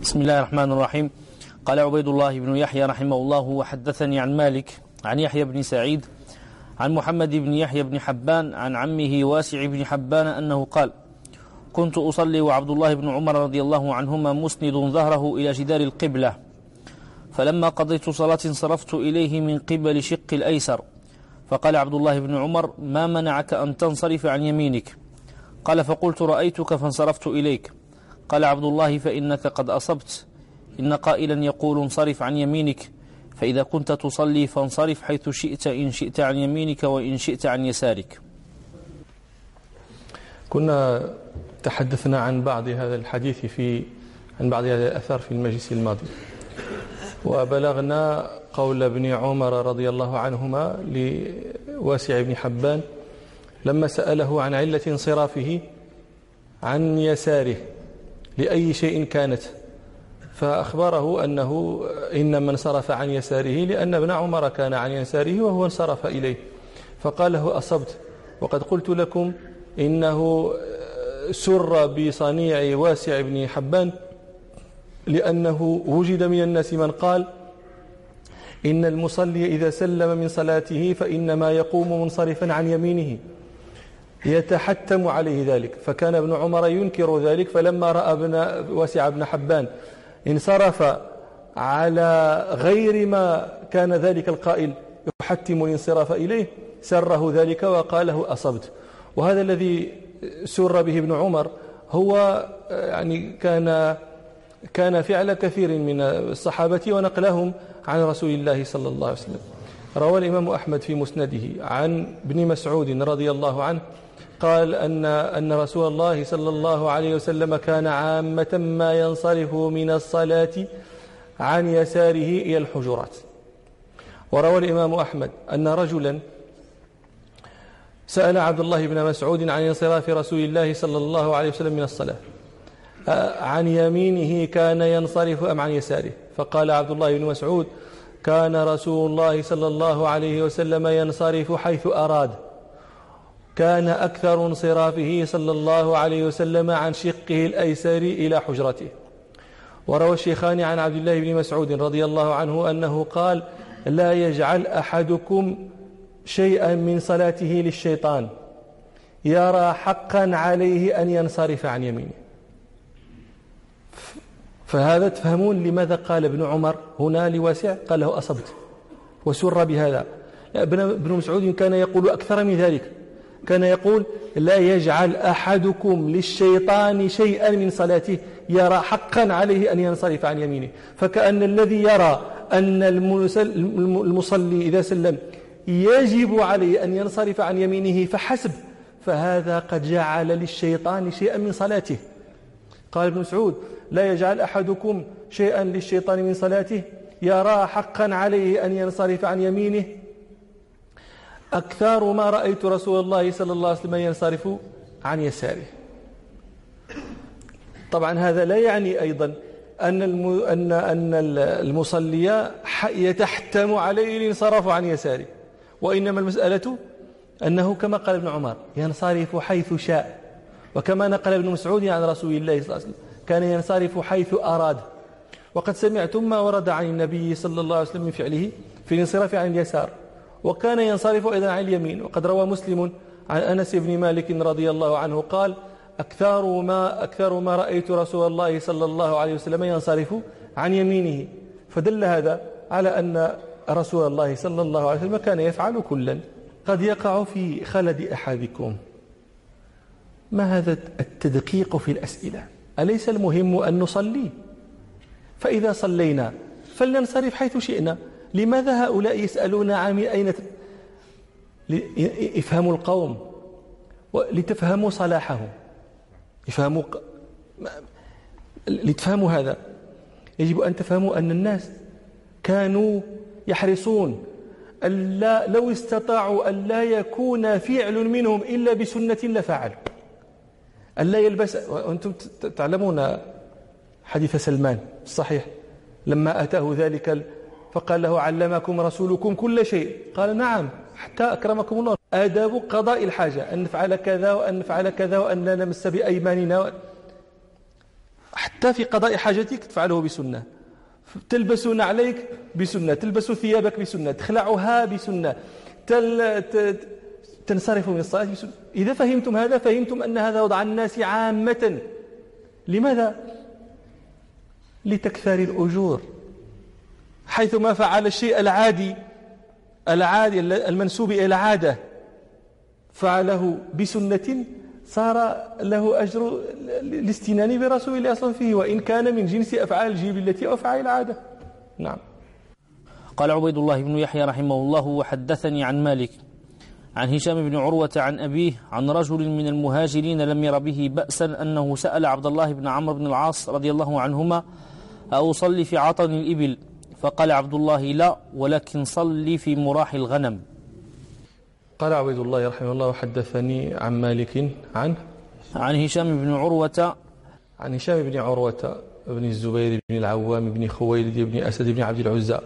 بسم الله الرحمن الرحيم. قال عبيد الله بن يحيى رحمه الله: وحدثني عن مالك عن يحيى بن سعيد عن محمد بن يحيى بن حبان عن عمه واسع بن حبان أنه قال: كنت أصلي وعبد الله بن عمر رضي الله عنهما مسند ظهره إلى جدار القبلة، فلما قضيت صلاة انصرفت إليه من قبل شق الأيسر، فقال عبد الله بن عمر: ما منعك أن تنصرف عن يمينك؟ قال: فقلت: رأيتك فانصرفت إليك. قال عبد الله: فإنك قد أصبت، إن قائلا يقول: انصرف عن يمينك، فإذا كنت تصلي فانصرف حيث شئت، إن شئت عن يمينك وإن شئت عن يسارك. كنا تحدثنا عن بعض هذا الحديث عن بعض هذا الأثر في المجلس الماضي، وبلغنا قول ابن عمر رضي الله عنهما لواسع بن حبان لما سأله عن علة انصرافه عن يساره لأي شيء كانت، فأخبره أنه إنما انصرف عن يساره لأن ابن عمر كان عن يساره وهو انصرف إليه، فقال له: أصبت، وقد قلت لكم إنه سر بصنيع واسع بن حبان، لأنه وجد من الناس من قال إن المصلي إذا سلم من صلاته فإنما يقوم منصرفا عن يمينه يتحتم عليه ذلك، فكان ابن عمر ينكر ذلك، فلما رأى واسع بن حبان انصرف على غير ما كان ذلك القائل يحتم الانصراف إليه سره ذلك وقال له: أصبت. وهذا الذي سر به ابن عمر هو يعني كان فعل كثير من الصحابة ونقلهم عن رسول الله صلى الله عليه وسلم. روى الإمام أحمد في مسنده عن ابن مسعود رضي الله عنه قال أن رسول الله صلى الله عليه وسلم كان عامة ما ينصرف من الصلاة عن يساره إلى الحجرات. وروى الإمام أحمد أن رجلا سأل عبد الله بن مسعود عن انصراف رسول الله صلى الله عليه وسلم من الصلاة، عن يمينه كان ينصرف أم عن يساره؟ فقال عبد الله بن مسعود: كان رسول الله صلى الله عليه وسلم ينصرف حيث أراد، كان أكثر انصرافه صلى الله عليه وسلم عن شقه الأيسر إلى حجرته. وروى الشيخان عن عبد الله بن مسعود رضي الله عنه أنه قال: لا يجعل أحدكم شيئا من صلاته للشيطان يرى حقا عليه أن ينصرف عن يمينه. فهذا تفهمون لماذا قال ابن عمر هنا لواسع قال له: أصبت، وسر بهذا. ابن مسعود كان يقول أكثر من ذلك، كان يقول: لا يجعل أحدكم للشيطان شيئا من صلاته يرى حقا عليه أن ينصرف عن يمينه. فكأن الذي يرى أن المصلي إذا سلم يجب عليه أن ينصرف عن يمينه فحسب، فهذا قد جعل للشيطان شيئا من صلاته. قال ابن مسعود: لا يجعل أحدكم شيئا للشيطان من صلاته يرى حقا عليه أن ينصرف عن يمينه، أكثر ما رأيت رسول الله صلى الله عليه وسلم ينصرف عن يساره. طبعا هذا لا يعني أيضا أن المصلي يتحتم عليه الانصراف عن يساره، وإنما المسألة أنه كما قال ابن عمر ينصرف حيث شاء، وكما نقل ابن مسعود عن رسول الله صلى الله عليه وسلم كان ينصرف حيث أراد. وقد سمعتم ما ورد عن النبي صلى الله عليه وسلم من فعله في الانصراف عن اليسار، وكان ينصرف أيضا عن اليمين. وقد روى مسلم عن أنس بن مالك رضي الله عنه قال: أكثر ما رأيت رسول الله صلى الله عليه وسلم ينصرف عن يمينه. فدل هذا على أن رسول الله صلى الله عليه وسلم كان يفعل كلا. قد يقع في خلد أحدكم ما هذا التدقيق في الأسئلة؟ أليس المهم أن نصلي؟ فإذا صلينا فلننصرف حيث شئنا. لماذا هؤلاء يسألون عن أين يفهموا القوم لتفهموا صلاحهم، لتفهموا هذا يجب أن تفهموا أن الناس كانوا يحرصون ألا لو استطاعوا أن لا يكون فعل منهم إلا بسنة لفعلوا، ألا يلبس. وأنتم تعلمون حديث سلمان الصحيح لما أتاه ذلك فقال له: علمكم رسولكم كل شيء؟ قال: نعم، حتى أكرمكم الله آداب قضاء الحاجة، أن نفعل كذا وأن نفعل كذا وأن لا نمس بأيماننا. حتى في قضاء حاجتك تفعله بسنة، تلبس نعليك بسنة، تلبس ثيابك بسنة، تخلعها بسنة، تنصرف من الصلاة بسنة. إذا فهمتم هذا فهمتم أن هذا وضع الناس عامة. لماذا؟ لتكثار الأجور، حيثما فعل الشيء العادي المنسوب إلى العادة فعله بسنة صار له أجر الاستنان برسول الله صلى الله عليه وسلم فيه، وإن كان من جنس أفعال الجبلة أو أفعال العادة. نعم. قال عبيد الله بن يحيى رحمه الله: وحدثني عن مالك عن هشام بن عروة عن أبيه عن رجل من المهاجرين لم ير به بأسا أنه سأل عبد الله بن عمرو بن العاص رضي الله عنهما: أصلي في عطن الإبل؟ فقال عبد الله: لا، ولكن صلي في مراح الغنم. قال عبيد الله رحمه الله: وحدثني عن مالك عن هشام بن عروة بن الزبير بن العوام بن خويلد بن أسد بن عبد العزى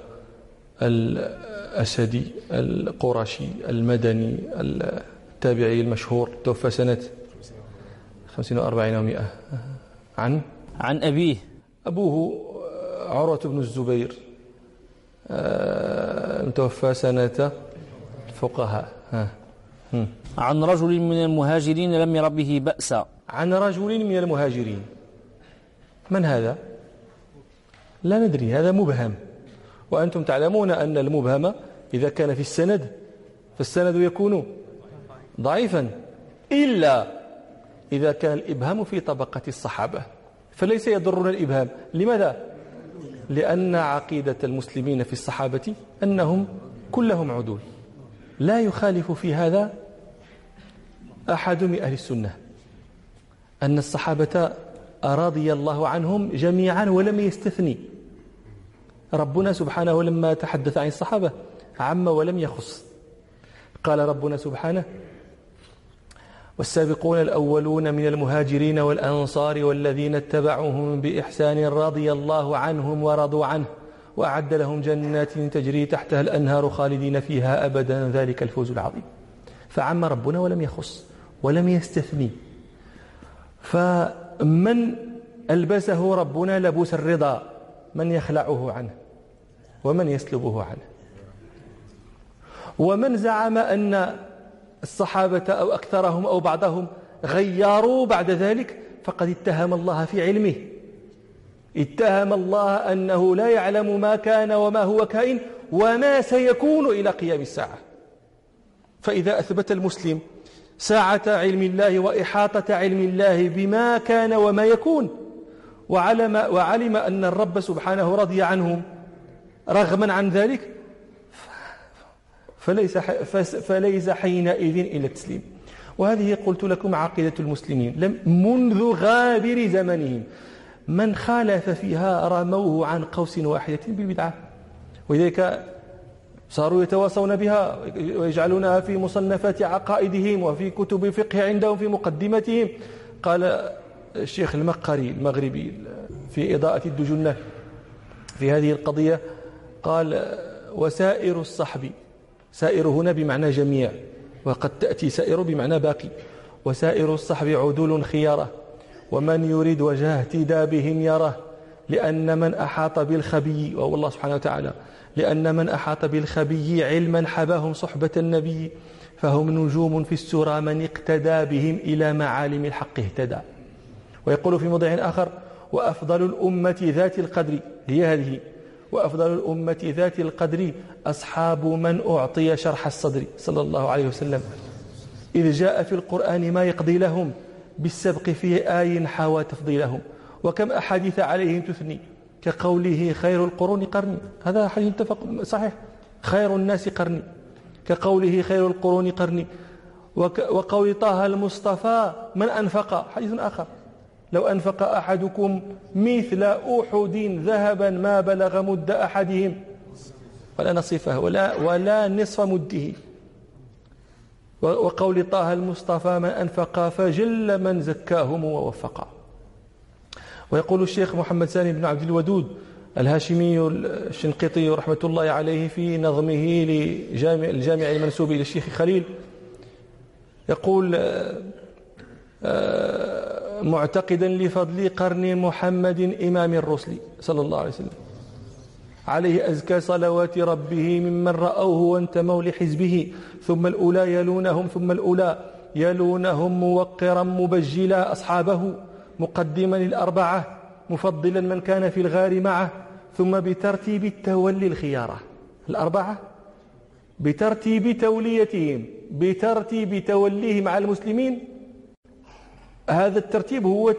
الأسدي القرشي المدني التابعي المشهور، توفى سنة 45 و100. عن أبيه، أبوه عروة بن الزبير، توفى سنة الفقهاء. عن رجل من المهاجرين لم ير به بأسا. عن رجل من المهاجرين، من هذا؟ لا ندري، هذا مبهم، وأنتم تعلمون أن المبهم إذا كان في السند فالسند يكون ضعيفا، إلا إذا كان الإبهام في طبقة الصحابة فليس يضرنا الإبهام. لماذا؟ لأن عقيدة المسلمين في الصحابة أنهم كلهم عدول، لا يخالف في هذا أحد من أهل السنة، أن الصحابة رضي الله عنهم جميعا ولم يستثني. ربنا سبحانه لما تحدث عن الصحابة عم ولم يخص. قال ربنا سبحانه: والسابقون الأولون من المهاجرين والأنصار والذين اتبعوهم بإحسان رضي الله عنهم ورضوا عنه وأعد لهم جنات تجري تحتها الأنهار خالدين فيها أبدا ذلك الفوز العظيم. فعم ربنا ولم يخص ولم يستثني. فمن ألبسه ربنا لبوس الرضا من يخلعه عنه ومن يسلبه عنه. ومن زعم أن الصحابة أو أكثرهم أو بعضهم غيروا بعد ذلك فقد اتهم الله في علمه، اتهم الله أنه لا يعلم ما كان وما هو كائن وما سيكون إلى قيام الساعة. فإذا أثبت المسلم ساعة علم الله وإحاطة علم الله بما كان وما يكون وعلم أن الرب سبحانه رضي عنهم رغما عن ذلك فليس حينئذ إلى التسليم. وهذه قلت لكم عقيدة المسلمين منذ غابر زمنهم، من خالف فيها رموه عن قوس واحدة بالبدعة، ولذلك صاروا يتواصون بها ويجعلونها في مصنفات عقائدهم وفي كتب الفقه عندهم في مقدمتهم. قال الشيخ المقري المغربي في إضاءة الدجنة في هذه القضية، قال: وسائر الصحب، سائر هنا بمعنى جميع، وقد تأتي سائر بمعنى باقي، وسائر الصحب عدول خيارة، ومن يريد وجه اهتدى بهم يره، لأن من أحاط بالخبي، وهو الله سبحانه وتعالى، لأن من أحاط بالخبي علما حباهم صحبة النبي، فهم نجوم في السرى من اقتدى بهم إلى معالم الحق اهتدى. ويقول في موضع آخر: وأفضل الأمة ذات القدر، هي هذه، وأفضل الأمة ذات القدر أصحاب من أعطي شرح الصدر صلى الله عليه وسلم، إذ جاء في القرآن ما يقضي لهم بالسبق في آي حوى تفضيلهم، وكم أحاديث عليهم تثني كقوله خير القرون قرني، هذا حديث متفق صحيح، خير الناس قرني، كقوله خير القرون قرني، وقول طه المصطفى من أنفق، حديث آخر: لو أنفق أحدكم مثل أحد ذهبا ما بلغ مد أحدهم ولا نصفه ولا نصف مده، وقول طه المصطفى من أنفق فجل من زكاهم ووفق. ويقول الشيخ محمد سالم بن عبد الودود الهاشمي الشنقيطي رحمة الله عليه في نظمه للجامع المنسوب إلى الشيخ خليل، يقول: معتقدا لفضل قرن محمد إمام الرسل صلى الله عليه وسلم عليه أزكى صلوات ربه ممن رأوه وانتموا لحزبه، ثم الأولى يلونهم ثم الأولى يلونهم، موقرا مبجلا أصحابه، مقدما الأربعة مفضلا من كان في الغار معه، ثم بترتيب التولي الخيارة الأربعة، بترتيب توليتهم، بترتيب توليهم على المسلمين. هذا الترتيب هو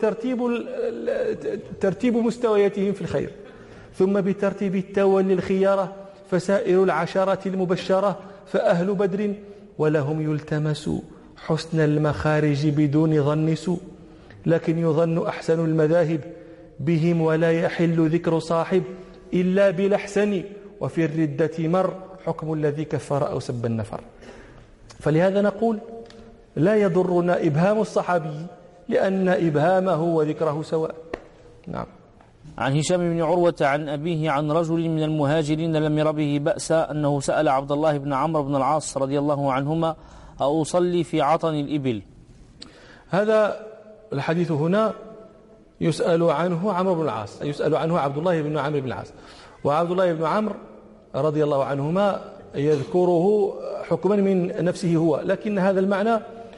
ترتيب مستوياتهم في الخير. ثم بترتيب التولي الخيارة، فسائر العشرة المبشرة فأهل بدر ولهم يلتمس حسن المخارج بدون ظن سوء، لكن يظن أحسن المذاهب بهم ولا يحل ذكر صاحب إلا بالأحسن، وفي الردة مر حكم الذي كفر أو سب النفر. فلهذا نقول لا يضرنا إبهام الصحابي، لأن إبهامه وذكره سواء. نعم. عن هشام بن عروة عن أبيه عن رجل من المهاجرين لم ير به بأسا أنه سأل عبد الله بن عمرو بن العاص رضي الله عنهما أصلي في عطن الإبل. هذا الحديث هنا يسأل عنه عمرو بن العاص، يسأل عنه عبد الله بن عمرو بن العاص، وعبد الله بن عمرو رضي الله عنهما يذكره حكما من نفسه هو، لكن هذا المعنى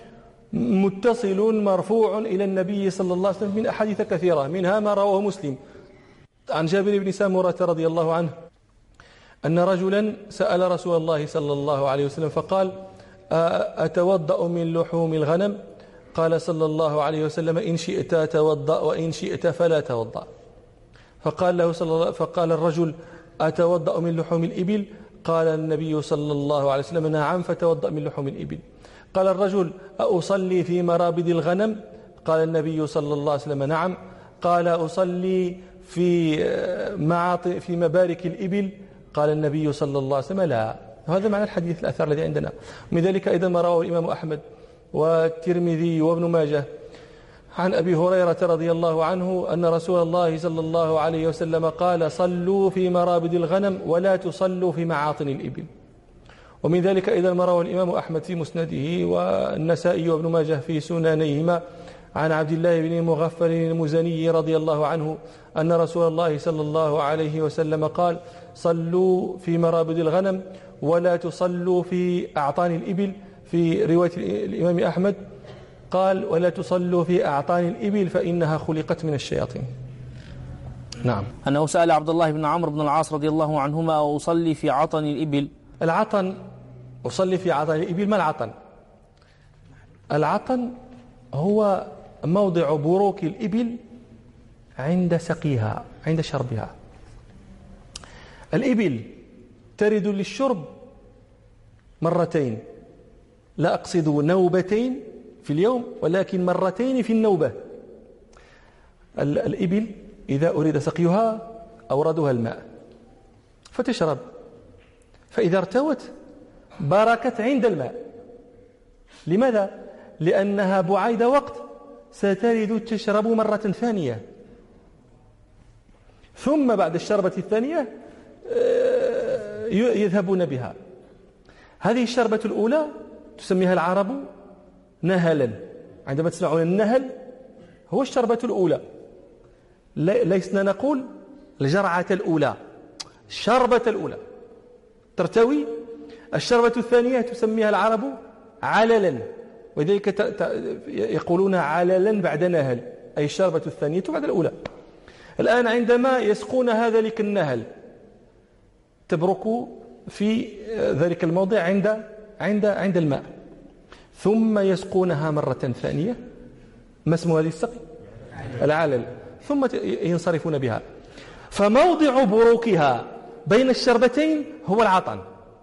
متصل مرفوع إلى النبي صلى الله عليه وسلم من أحاديث كثيرة، منها ما رواه مسلم عن جابر بن سامورة رضي الله عنه أن رجلا سأل رسول الله صلى الله عليه وسلم فقال: أتوضأ من لحوم الغنم؟ قال صلى الله عليه وسلم: إن شئت توضأ وإن شئت فلا توضأ. فقال الرجل: أتوضأ من لحوم الإبل؟ قال النبي صلى الله عليه وسلم: نعم، فتوضأ من لحوم الإبل. قال الرجل: أصلي في مرابد الغنم؟ قال النبي صلى الله عليه وسلم: نعم. قال: أصلي في مبارك الإبل؟ قال النبي صلى الله عليه وسلم: لا. هذا معنى الحديث الأثر الذي عندنا. من ذلك أيضا ما رواه الإمام أحمد والترمذي وابن ماجه عن أبي هريرة رضي الله عنه أن رسول الله صلى الله عليه وسلم قال: صلوا في مرابد الغنم ولا تصلوا في معاطن الإبل. ومن ذلك أيضا ما رواه الإمام أحمد في مسنده والنسائي وابن ماجه في سننيهما عن عبد الله بن مغفل المزني رضي الله عنه أن رسول الله صلى الله عليه وسلم قال: صلوا في مرابد الغنم ولا تصلوا في أعطان الإبل. في رواية الإمام أحمد قال: ولا تصلوا في أعطان الإبل فإنها خلقت من الشياطين. نعم. أنه سأل عبد الله بن عمرو بن العاص رضي الله عنهما أصلي في عطن الإبل. العطن، أصلي في عطن الإبل. ما العطن؟ العطن هو موضع بروك الإبل عند سقيها، عند شربها. الإبل ترد للشرب مرتين، لا أقصد نوبتين في اليوم، ولكن مرتين في النوبة. الإبل إذا أريد سقيها أوردها الماء فتشرب، فإذا ارتوت بركت عند الماء. لماذا؟ لأنها بعيد وقت سترد تشرب مرة ثانية، ثم بعد الشربة الثانية يذهبون بها. هذه الشربة الأولى تسميها العرب نهلا. عندما تسمعون النهل هو الشربة الأولى، لسنا نقول الجرعة الأولى، الشربة الأولى ترتوي. الشربة الثانية تسميها العرب عللا، وذلك يقولون عللا بعد نهل، أي الشربة الثانية بعد الأولى. الآن عندما يسقون هذا لك النهل تبرك في ذلك الموضع عند الماء، ثم يسقونها مرة ثانية. ما اسم هذه السقي؟ العلل. ثم ينصرفون بها. فموضع بروكها بين الشربتين هو العطن.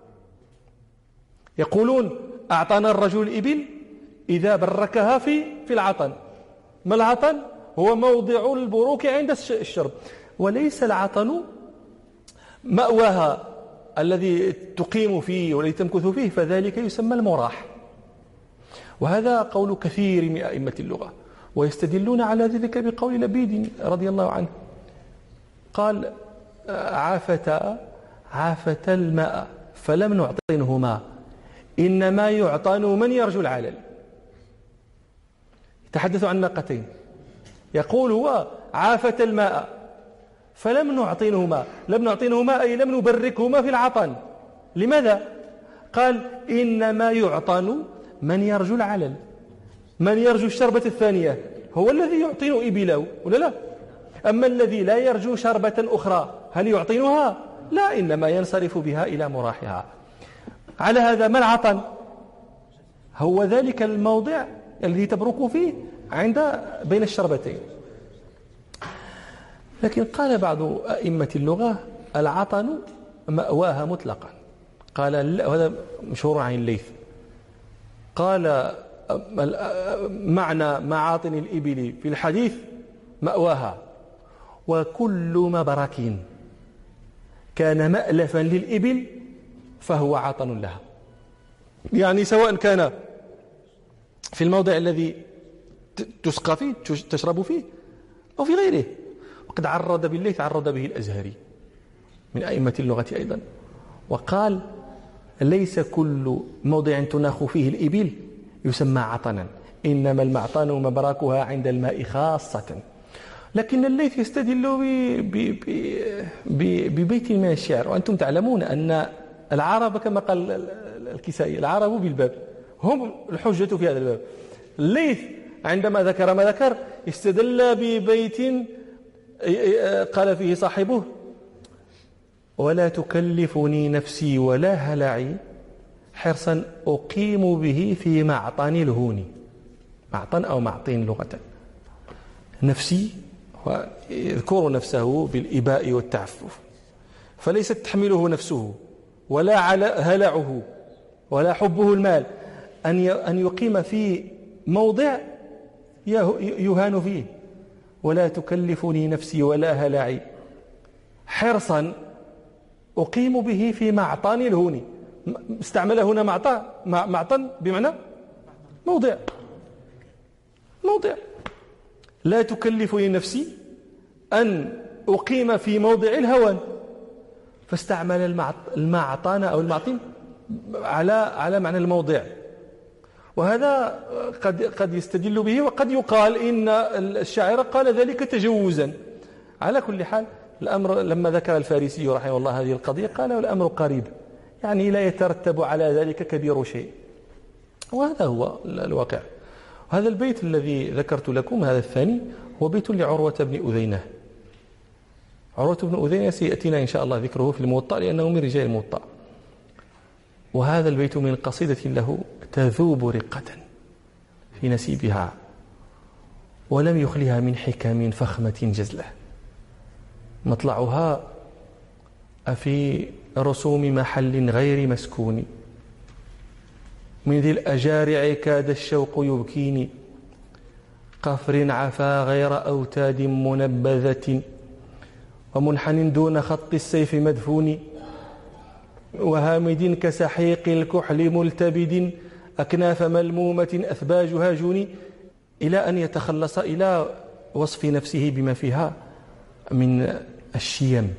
يقولون: أعطانا الرجل الإبل إذا بركها في العطن. ما العطن؟ هو موضع البروك عند الشرب، وليس العطن مأواها الذي تقيم فيه والذي تمكث فيه، فذلك يسمى المراح. وهذا قول كثير من أئمة اللغة، ويستدلون على ذلك بقول لبيد رضي الله عنه قال: عافت الماء فلم نعطنه ماء، إنما يعطن من يرجو العلل. يتحدث عن ناقتين، يقول هو عافة الماء فلم نعطينه ماء، لم نعطينه ماء أي لم نبركه ماء في العطن. لماذا؟ قال إنما يعطن من يرجو العلل، من يرجو الشربة الثانية هو الذي يعطن إبله ولا لا؟ أما الذي لا يرجو شربة أخرى هل يعطنها؟ لا، إنما ينصرف بها إلى مراحها. على هذا ما العطن؟ هو ذلك الموضع الذي تبرك فيه بين الشربتين. لكن قال بعض أئمة اللغة العطن مأواها مطلقا. قال هذا مشهور عن الليث، قال معنى معاطن الإبل في الحديث مأواها، وكل مبرك كان مألفا للإبل فهو عطن لها. يعني سواء كان في الموضع الذي تسقى فيه تشرب فيه أو في غيره. وقد عرض بالليث عرض به الأزهري من أئمة اللغة أيضا، وقال ليس كل موضع تناخ فيه الإبل يسمى عطنا، إنما المعطن مبراكها عند الماء خاصة. لكن الليث يستدل ببيت من الشعر، وأنتم تعلمون أن العرب كما قال الكسائي العرب بالباب هم الحجة في هذا الباب. الليث عندما ذكر ما ذكر استدل ببيت قال فيه صاحبه: ولا تكلفني نفسي ولا هلعي حرصا أقيم به في معطن الهون. معطن أو معطين لغة. نفسي يذكر نفسه بالإباء والتعفف، فليست تحمله نفسه ولا هلعه ولا حبه المال أن يقيم في موضع يهان فيه. ولا تكلفني نفسي ولا هلعي حرصا أقيم به في معطن الهون. استعمل هنا معطن بمعنى موضع. لا تكلفني نفسي أن أقيم في موضع الهوان، فاستعمل المعطن أو المعطن على معنى الموضع. وهذا قد يستدل به، وقد يقال إن الشاعر قال ذلك تجوزا. على كل حال الأمر لما ذكر الفارسي رحمه الله هذه القضية قال الأمر قريب، يعني لا يترتب على ذلك كبير شيء، وهذا هو الواقع. هذا البيت الذي ذكرت لكم هذا الثاني هو بيت لعروة بن أذينة. عروة بن أذينة سيأتينا إن شاء الله ذكره في الموطأ لأنه من رجال الموطأ. وهذا البيت من قصيدة له تذوب رقة في نسيبها ولم يخلها من حكم فخمة جزلة. مطلعها في رسوم محل غير مسكون، من ذي الأجارع كاد الشوق يبكيني، قفر عفا غير أوتاد منبذة، ومنحن دون خط السيف مدفون، وهامد كسحيق الكحل ملتبد، أكناف ملمومة أثباجها جوني، إلى أن يتخلص إلى وصف نفسه بما فيها من الشيم.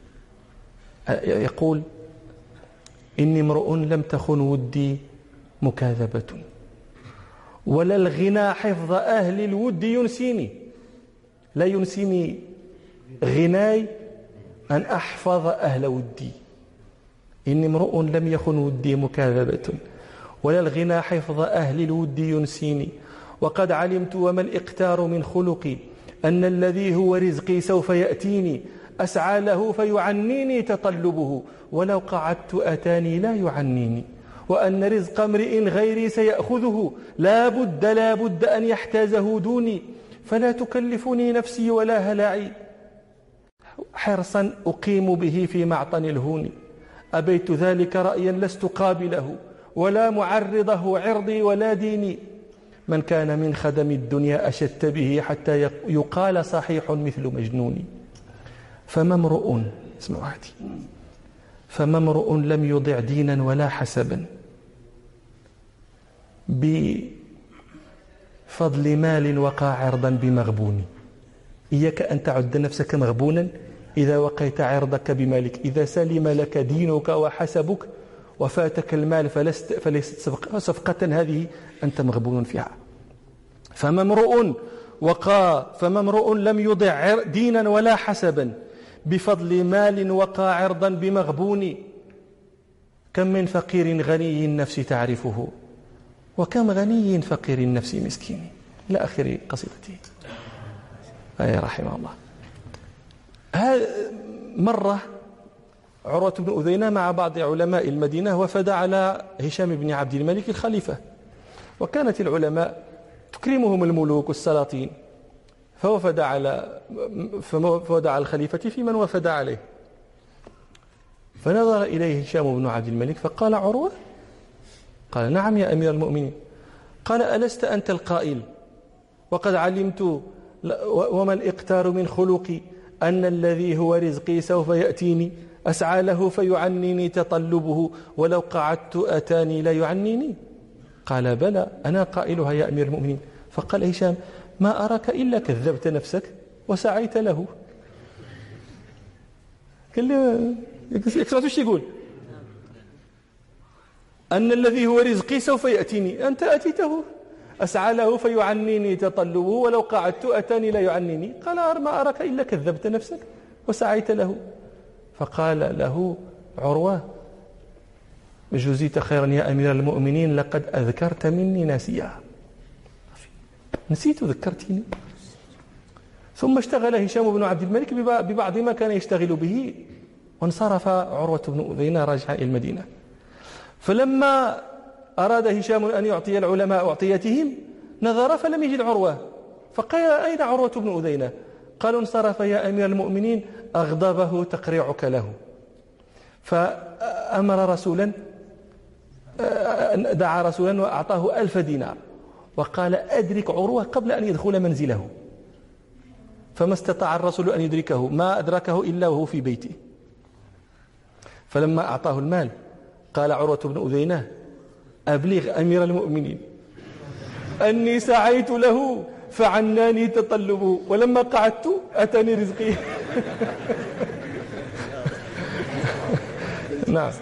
يقول: إني امرؤ لم تخن ودي مكاذبة، ولا الغنى حفظ أهل الود ينسيني. لا ينسيني غناي أن أحفظ أهل ودي. إني امرؤ لم يخن ودي مكاذبة، ولا الغنى حفظ أهل الود ينسيني، وقد علمت وما الإقتار من خلقي، أن الذي هو رزقي سوف يأتيني، أسعى له فيعنيني تطلبه، ولو قعدت أتاني لا يعنيني، وأن رزق امرئ غيري سيأخذه، لا بد أن يحتازه دوني، فلا تكلفني نفسي ولا هلعي حرصا أقيم به في معطن الهون. أبيت ذلك رأيا لست قابله، ولا معرضه عرضي ولا ديني، من كان من خدم الدنيا أشدت به، حتى يقال صحيح مثل مجنون. فما امرؤ، اسمعوا هذه، فما امرؤ لم يضع دينا ولا حسبا بفضل مال وقع عرضا بمغبون. إياك أن تعد نفسك مغبونا إذا وقيت عرضك بمالك. إذا سلم لك دينك وحسبك وفاتك المال فليست صفقة هذه، أنت مغبون فيها. فما امرؤ فما امرؤ لم يضع دينا ولا حسبا بفضل مال وقى عرضا بمغبون. كم من فقير غني النفس تعرفه وكم غني فقير النفس مسكين، إلى آخر قصيدته. أي رحمه الله. مرة عروة بن أذينة مع بعض علماء المدينة وفد على هشام بن عبد الملك الخليفة، وكانت العلماء تكرمهم الملوك والسلاطين، فوفد على الخليفة في من وفد عليه، فنظر إليه هشام بن عبد الملك فقال: عروة؟ قال: نعم يا أمير المؤمنين. قال: ألست أنت القائل وقد علمت وما الإقتار من خلقي أن الذي هو رزقي سوف يأتيني أسعى له فيعنيني تطلبه ولو قعدت أتاني لا يعنيني؟ قال: بلى أنا قائلها يا أمير المؤمنين. فقال هشام: ما أراك إلا كذبت نفسك وسعيت له. قال له يكسرت وش يقول؟ أن الذي هو رزقي سوف يأتيني، أنت أتيته. أسعى له فيعنيني تطلبه ولو قعدت أتاني لا يعنيني. قال: ما أراك إلا كذبت نفسك وسعيت له. فقال له عروة: جزيت خيرا يا أمير المؤمنين، لقد أذكرت مني ناسيا. نسيت ذكرتني. ثم اشتغل هشام بن عبد الملك ببعض ما كان يشتغل به، وانصرف عروة بن أذينة راجعا إلى المدينة. فلما أراد هشام أن يعطي العلماء أعطيتهم نظر فلم يجد عروة، فقال: أين عروة بن أذينة؟ قالوا: انصرف يا أمير المؤمنين، أغضبه تقريعك له. فأمر رسولا، دعا رسولا وأعطاه 1000 دينار وقال: أدرك عروة قبل أن يدخل منزله. فما استطاع الرسول أن يدركه، ما أدركه إلا وهو في بيته. فلما أعطاه المال قال عروة بن أذينة: أبلغ أمير المؤمنين أني سعيت له فعناني تطلبه ولما قعدت أتاني رزقي. نعم.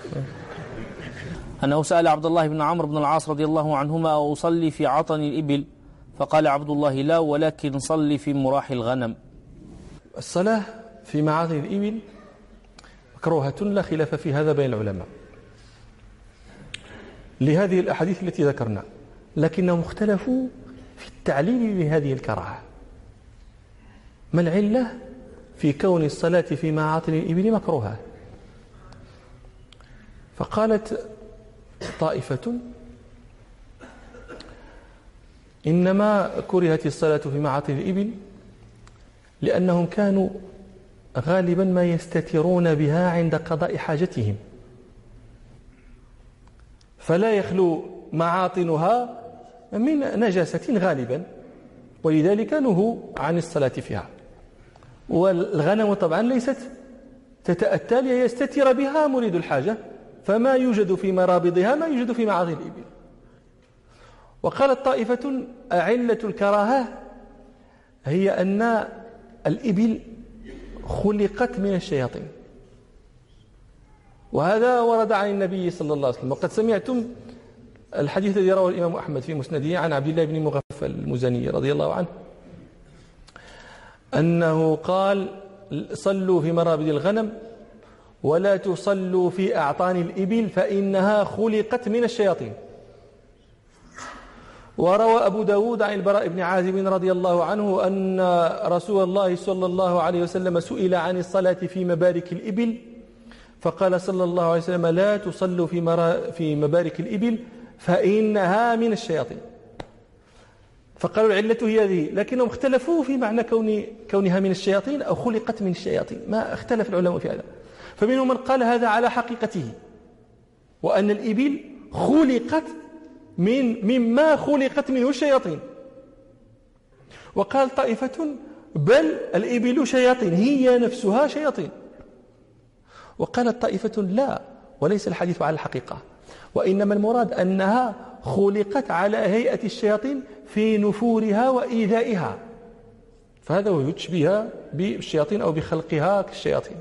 أنه سأل عبد الله بن عمرو بن العاص رضي الله عنهما: أصلي في عطن الإبل؟ فقال عبد الله: لا، ولكن صلي في مراح الغنم. الصلاة في معاطن الإبل مكروهة لا خلاف في هذا بين العلماء لهذه الأحاديث التي ذكرنا، لكنهم اختلفوا في التعليل لهذه الكراهة. ما العلة في كون الصلاة في معاطن الإبل مكروهة؟ فقالت طائفة: إنما كرهت الصلاة في معاطن الإبل لأنهم كانوا غالبا ما يستترون بها عند قضاء حاجتهم، فلا يخلو معاطنها من نجاسة غالبا، ولذلك نهوا عن الصلاة فيها. والغنم طبعا ليست تتأتى ليستتر بها مريد الحاجة، فما يوجد في مرابضها ما يوجد في معاطن الإبل. وقالت طائفة: أعلة الكراهة هي أن الإبل خلقت من الشياطين، وهذا ورد عن النبي صلى الله عليه وسلم. وقد سمعتم الحديث الذي رواه الإمام أحمد في مسنده عن عبد الله بن مغفل المزني رضي الله عنه أنه قال: صلوا في مرابض الغنم ولا تصلوا في أعطان الإبل فإنها خلقت من الشياطين. وروى أبو داود عن البراء بن عازب رضي الله عنه أن رسول الله صلى الله عليه وسلم سئل عن الصلاة في مبارك الإبل فقال صلى الله عليه وسلم: لا تصلوا في مبارك الإبل فإنها من الشياطين. فقالوا العلة هي هذه، لكنهم اختلفوا في معنى كونها من الشياطين أو خلقت من الشياطين، ما اختلف العلماء في هذا. فمنهم من قال هذا على حقيقته، وأن الإبل خلقت مما خلقت منه الشياطين. وقال طائفة: بل الإبل شياطين، هي نفسها شياطين. وقالت طائفة: لا، وليس الحديث على الحقيقة، وإنما المراد أنها خلقت على هيئة الشياطين في نفورها وإيذائها، فهذا هو يشبه بالشياطين أو بخلقها كالشياطين.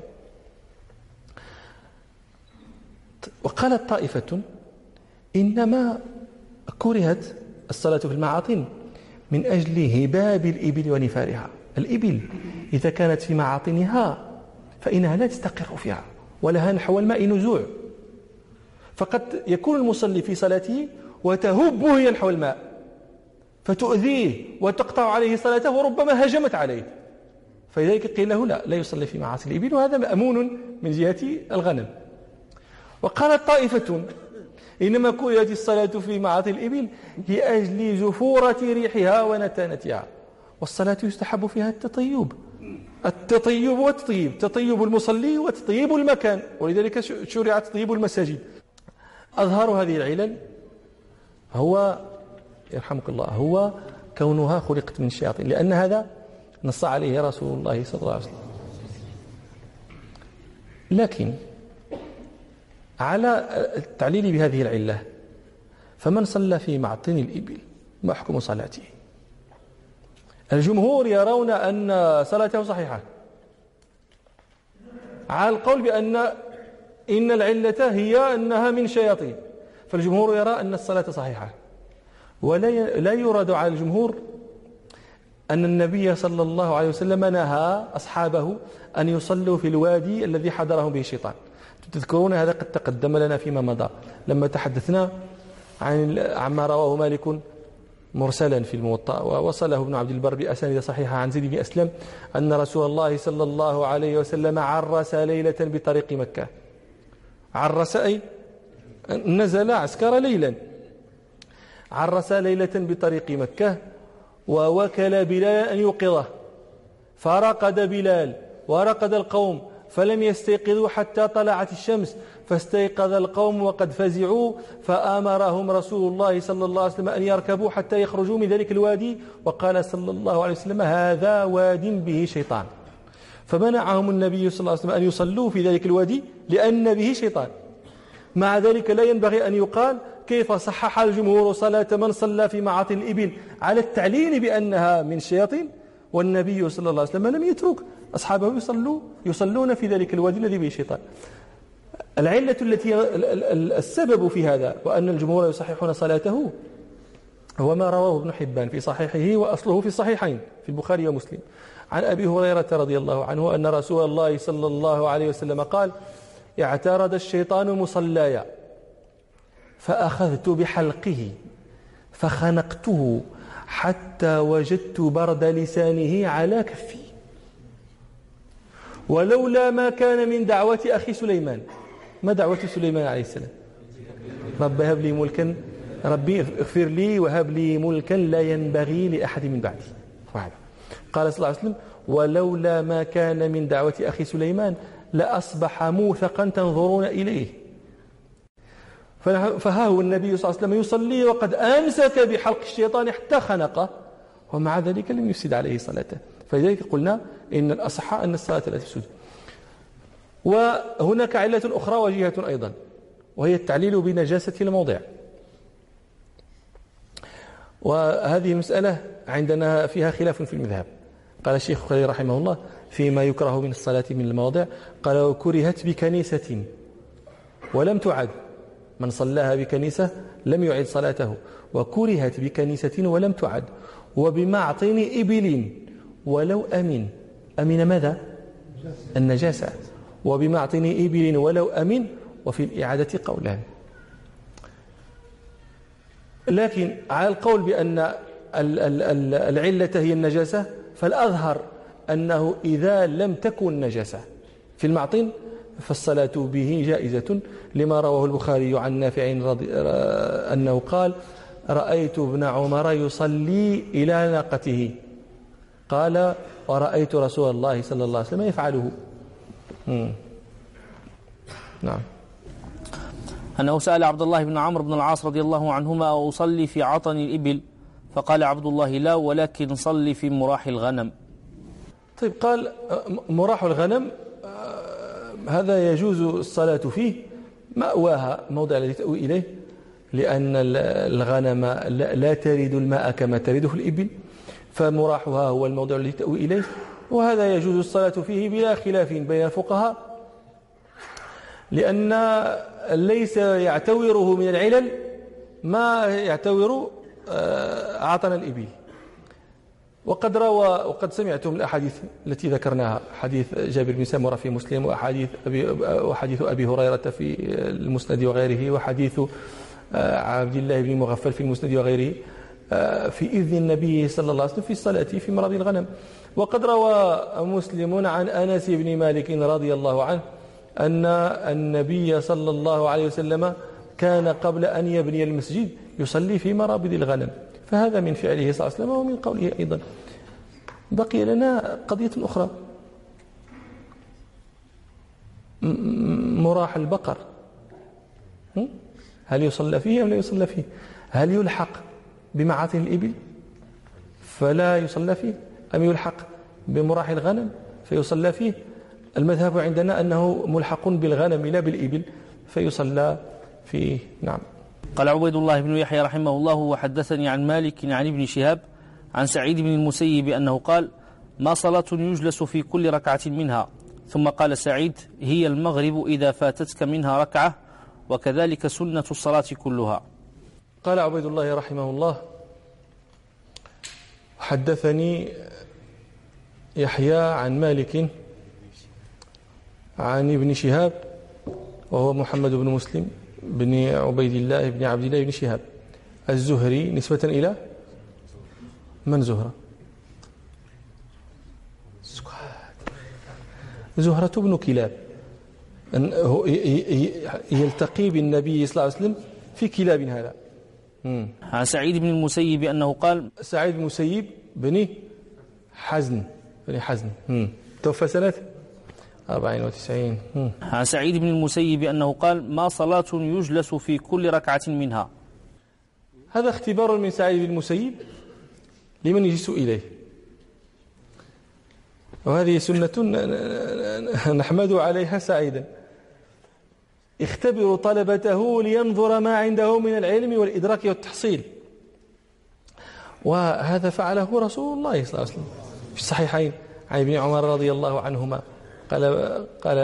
وقالت طائفة: إنما كرهت الصلاة في المعاطن من أجل هباب الإبل ونفارها. الإبل إذا كانت في معاطنها فإنها لا تستقر فيها ولها نحو الماء نزوع، فقد يكون المصلي في صلاته وتهب هي نحو الماء فتؤذيه وتقطع عليه صلاته وربما هجمت عليه، فلذلك قيل له لا يصلي في معاصي الإبل، وهذا مأمون من جهة الغنم. وقالت طائفة إنما كرهت الصلاة في معاصي الإبل لأجل جفورة ريحها ونتانتها، والصلاة يستحب فيها التطيب والتطيب، تطيب المصلي وتطيب المكان، ولذلك شرع تطيب المساجد. أظهر هذه العلل هو يرحمك الله هو كونها خلقت من الشياطين، لأن هذا نص عليه رسول الله صلى الله عليه وسلم. لكن على التعليل بهذه العلة، فمن صلى في معطن الإبل ما حكم صلاته؟ الجمهور يرون أن صلاته صحيحة، على القول بأن إن العلة هي أنها من شياطين، فالجمهور يرى أن الصلاة صحيحة. ولا يراد على الجمهور أن النبي صلى الله عليه وسلم نهى أصحابه أن يصلوا في الوادي الذي حضرهم به الشيطان. تذكرون هذا قد تقدم لنا فيما مضى لما تحدثنا عما رواه مالك مرسلا في الموطأ، ووصله ابن عبد البر بأسانيد صحيحة عن زيد بن أسلم أن رسول الله صلى الله عليه وسلم عرس ليلة بطريق مكة. عرس أي نزل عسكر ليلا، عرس ليلة بطريق مكة، ووكل بلال أن يوقظه، فرقد بلال ورقد القوم فلم يستيقظوا حتى طلعت الشمس، فاستيقظ القوم وقد فزعوا، فآمرهم رسول الله صلى الله عليه وسلم أن يركبوا حتى يخرجوا من ذلك الوادي، وقال صلى الله عليه وسلم هذا واد به شيطان، فمنعهم النبي صلى الله عليه وسلم أن يصلوا في ذلك الوادي لأن به شيطان. مع ذلك لا ينبغي أن يقال كيف صحح الجمهور صلاة من صلى في معاطن الإبل على التعليل بأنها من الشياطين، والنبي صلى الله عليه وسلم لم يترك أصحابه يصلون في ذلك الوادي الذي به شيطان. العلة التي السبب في هذا وأن الجمهور يصححون صلاته هو ما رواه ابن حبان في صحيحه، وأصله في الصحيحين في البخاري ومسلم، عن أبي هريرة رضي الله عنه أن رسول الله صلى الله عليه وسلم قال اعترض الشيطان مصلاي فأخذت بحلقه فخنقته حتى وجدت برد لسانه على كفي، ولولا ما كان من دعوة أخي سليمان. ما دعوة سليمان عليه السلام؟ رب هب لي ملكا، ربي اغفر لي وهب لي ملكا لا ينبغي لأحد من بعدي. قال صلى الله عليه وسلم ولولا ما كان من دعوة أخي سليمان لأصبح موثقا تنظرون إليه. فها هو النبي صلى الله عليه وسلم يصلي وقد أمسك بحلق الشيطان حتى خنقه، ومع ذلك لم يفسد عليه صلاته. فلذلك قلنا إن الأصح أن الصلاة لا تفسد. وهناك علة أخرى وجيهة أيضا، وهي التعليل بنجاسة الموضع، وهذه مسألة عندنا فيها خلاف في المذهب. قال الشيخ خليل رحمه الله فيما يكره من الصلاة من المواضع، قال وكرهت بكنيسة ولم تعد، من صلاها بكنيسة لم يعد صلاته، وكرهت بكنيسة ولم تعد، وبمعطن إبل ولو أمن ماذا؟ النجاسة، وبمعطن إبل ولو أمن، وفي الإعادة قولان. لكن على القول بأن العلة هي النجاسة، فالأظهر أنه إذا لم تكن نجاسة في المعطن فالصلاة به جائزة، لما رواه البخاري عن نافع أنه قال رأيت ابن عمر يصلي إلى ناقته، قال ورأيت رسول الله صلى الله عليه وسلم يفعله. نعم. أنه سأل عبد الله بن عمرو بن العاص رضي الله عنهما أصلي في عطن الإبل، فقال عبد الله لا، ولكن صلي في مراح الغنم. طيب، قال مراح الغنم هذا يجوز الصلاة فيه، مأواها موضع الذي تأوي إليه، لأن الغنم لا ترد الماء كما ترده الإبل، فمراحها هو الموضع الذي تأوي إليه، وهذا يجوز الصلاة فيه بلا خلاف بين الفقهاء، لأن ليس يعتوره من العلل ما يعتور عطن الإبل، وقد سمعتم الأحاديث التي ذكرناها، حديث جابر بن سمرة في مسلم، وحديث أبي هريرة في المسند وغيره، وحديث عبد الله بن مغفل في المسند وغيره في إذن النبي صلى الله عليه وسلم في الصلاة في مرابض الغنم. وقد روى مسلم عن أنس بن مالك رضي الله عنه أن النبي صلى الله عليه وسلم كان قبل أن يبني المسجد يصلي في مرابض الغنم، فهذا من فعله صلى الله عليه وسلم ومن قوله أيضا. بقي لنا قضية أخرى، مراح البقر، هل يصلى فيه أم لا يصلى فيه؟ هل يلحق بمعاطن الإبل فلا يصلى فيه، أم يلحق بمراح الغنم فيصلى فيه؟ المذهب عندنا أنه ملحق بالغنم لا بالإبل فيصلى فيه. نعم. قال عبيد الله بن يحيى رحمه الله: وحدثني عن مالك عن ابن شهاب عن سعيد بن المسيب أنه قال: ما صلاة يجلس في كل ركعة منها. ثم قال سعيد: هي المغرب إذا فاتتك منها ركعة، وكذلك سنة الصلاة كلها. قال عبيد الله رحمه الله: حدثني يحيى عن مالك عن ابن شهاب، وهو محمد بن مسلم بن عبيد الله بن عبد الله بن شهاب الزهري، نسبة إلى من؟ زهرة بن كلاب، يلتقي بالنبي صلى الله عليه وسلم في كلاب هذا. عن سعيد بن المسيب أنه قال: سعيد بن المسيب بن حزن توفى سنة 94. عن سعيد بن المسيب أنه قال: ما صلاة يجلس في كل ركعة منها. هذا اختبار من سعيد بن المسيب لمن يجلس إليه، وهذه سنة نحمد عليها سعيدا. اختبروا طلبته لينظر ما عنده من العلم والإدراك والتحصيل، وهذا فعله رسول الله صلى الله عليه وسلم في الصحيحين عن ابن عمر رضي الله عنهما قال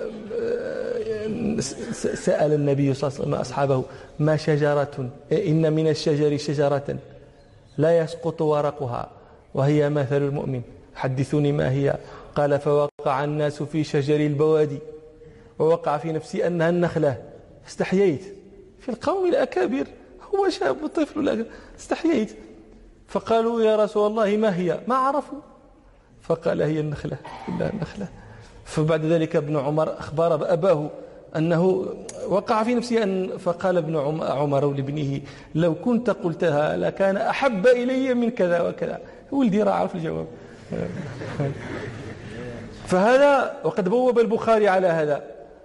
سأل النبي صلى الله عليه وسلم أصحابه: ما شجرة إن من الشجر شجرة لا يسقط ورقها وهي مثل المؤمن، حدثوني ما هي؟ قال: فوقع الناس في شجر البوادي، ووقع في نفسي أنها النخلة، استحييت. في القوم الأكابر، هو شاب طفل استحييت. فقالوا: يا رسول الله ما هي؟ ما عرفوا، فقال: هي النخلة، إلا النخلة. فبعد ذلك ابن عمر أخبر أباه أنه وقع في نفسه فقال ابن عمر لابنه: لو كنت قلتها لكان أحب إلي من كذا وكذا. ولدي راه عرف الجواب. فهذا وقد بوب البخاري على هذا،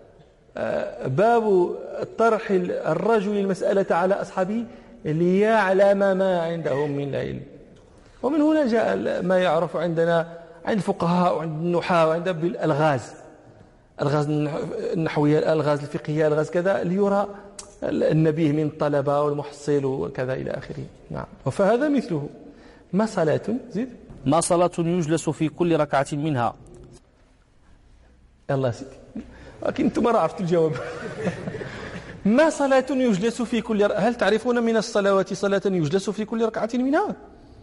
باب طرح الرجل المسألة على أصحابه ليعلم ما عندهم من العلم. ومن هنا جاء ما يعرف عندنا عند الفقهاء وعند النحاة وعند الألغاز النحوية، الألغاز الفقهية، الألغاز كذا، ليرى النبيه من الطلبة والمحصل وكذا إلى آخره. نعم. فهذا مثله. ما صلاة زيد؟ ما صلاة يجلس في كل ركعة منها. الله سيدي، لكن أنتم ما عرفتوا الجواب. ما صلاة يجلس في كل هل تعرفون من الصلوات صلاة يجلس في كل ركعة منها؟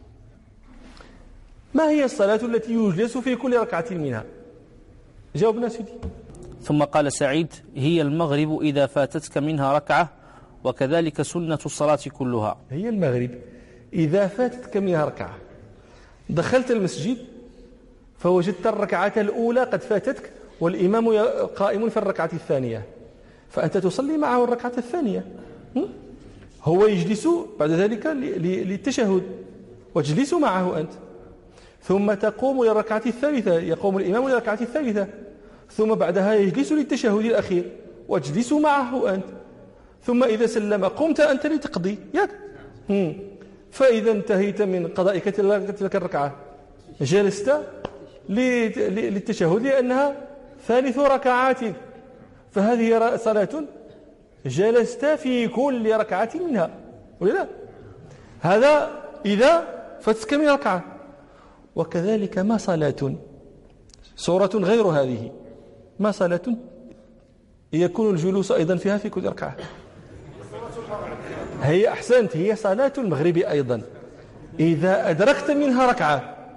ما هي الصلاة التي يجلس في كل ركعة منها؟ جاوبنا سيدي. ثم قال سعيد: هي المغرب إذا فاتتك منها ركعة، وكذلك سنة الصلاة كلها. هي المغرب إذا فاتتك منها ركعة، دخلت المسجد فوجدت الركعة الأولى قد فاتتك والإمام قائم في الركعة الثانية، فأنت تصلي معه الركعة الثانية. هو يجلس بعد ذلك للتشهد وتجلس معه أنت، ثم تقوم للركعة الثالثة، يقوم الإمام للركعة الثالثة، ثم بعدها يجلس للتشهد الأخير واجلس معه أنت، ثم إذا سلم قمت أنت لتقضي ياك. فإذا انتهيت من قضائك تلك الركعة جلست للتشهد لأنها ثالث ركعاتك، فهذه صلاة جلست في كل ركعة منها، ولا لا؟ هذا إذا فاتك من ركعة. وكذلك ما صلاة، صورة غير هذه، ما صلاة يكون الجلوس أيضا فيها في كل ركعة. هي أحسنت، هي صلاة المغرب أيضا إذا أدركت منها ركعة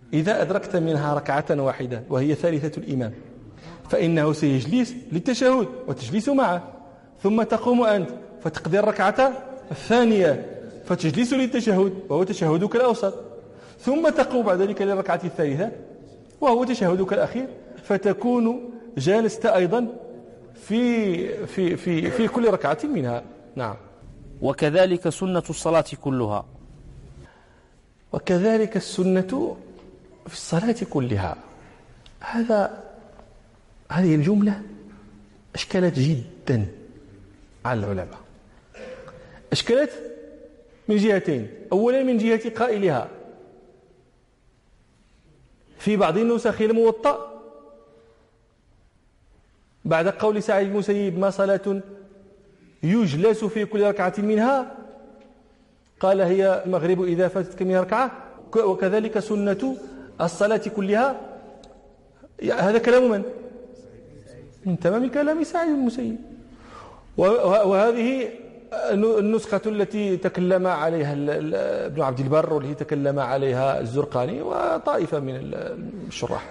إذا أدركت منها ركعة واحدة وهي ثالثة الإمام فإنه سيجلس للتشهد وتجلس معه، ثم تقوم أنت فتقضي الركعة الثانية فتجلس للتشهد وهو تشهدك الأوسط، ثم تقوم بعد ذلك للركعة الثالثة وهو تشهدك الأخير، فتكون جالست أيضا في كل ركعة منها. نعم. وكذلك سنة الصلاة كلها. وكذلك السنة في الصلاة كلها. هذه الجملة أشكلت جدا على العلماء، أشكلت من جهتين. أولا من جهة قائلها، في بعض النسخ الموطأ بعد قول سعيد بن المسيب ما صلاة يجلس في كل ركعة منها قال هي المغرب إذا فاتتك من ركعة، وكذلك سنة الصلاة كلها. هذا كلام من تمام كلام سعيد بن المسيب. وهذه النسخة التي تكلم عليها ابن عبد البر والتي تكلم عليها الزرقاني وطائفة من الشراح.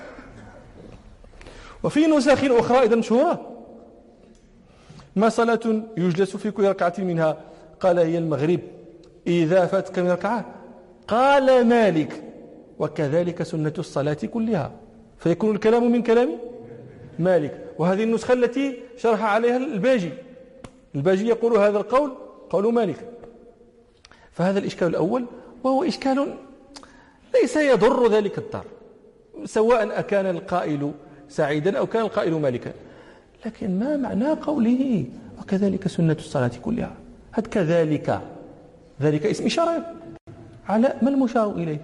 وفي نسخ أخرى أيضا مشهورة ما صلاة يجلس في كل ركعة منها قال هي المغرب إذا فاتك من ركعة، قال مالك وكذلك سنة الصلاة كلها، فيكون الكلام من كلام مالك. وهذه النسخة التي شرح عليها الباجي يقول هذا القول قول مالك. فهذا الإشكال الأول، وهو إشكال ليس يضر ذلك الدار سواء أكان القائل سعيدا أو كان القائل مالكا، لكن ما معنى قوله وكذلك سنة الصلاة كلها؟ هذا كذلك، ذلك اسم إشارة على ما المشار إليه.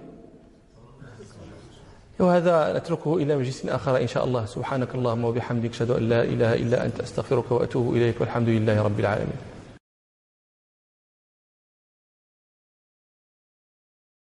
وهذا نتركه إلى مجلس آخر إن شاء الله. سبحانك اللهم وبحمدك أشهد أن لا إله إلا أنت أستغفرك وأتوب إليك، والحمد لله رب العالمين.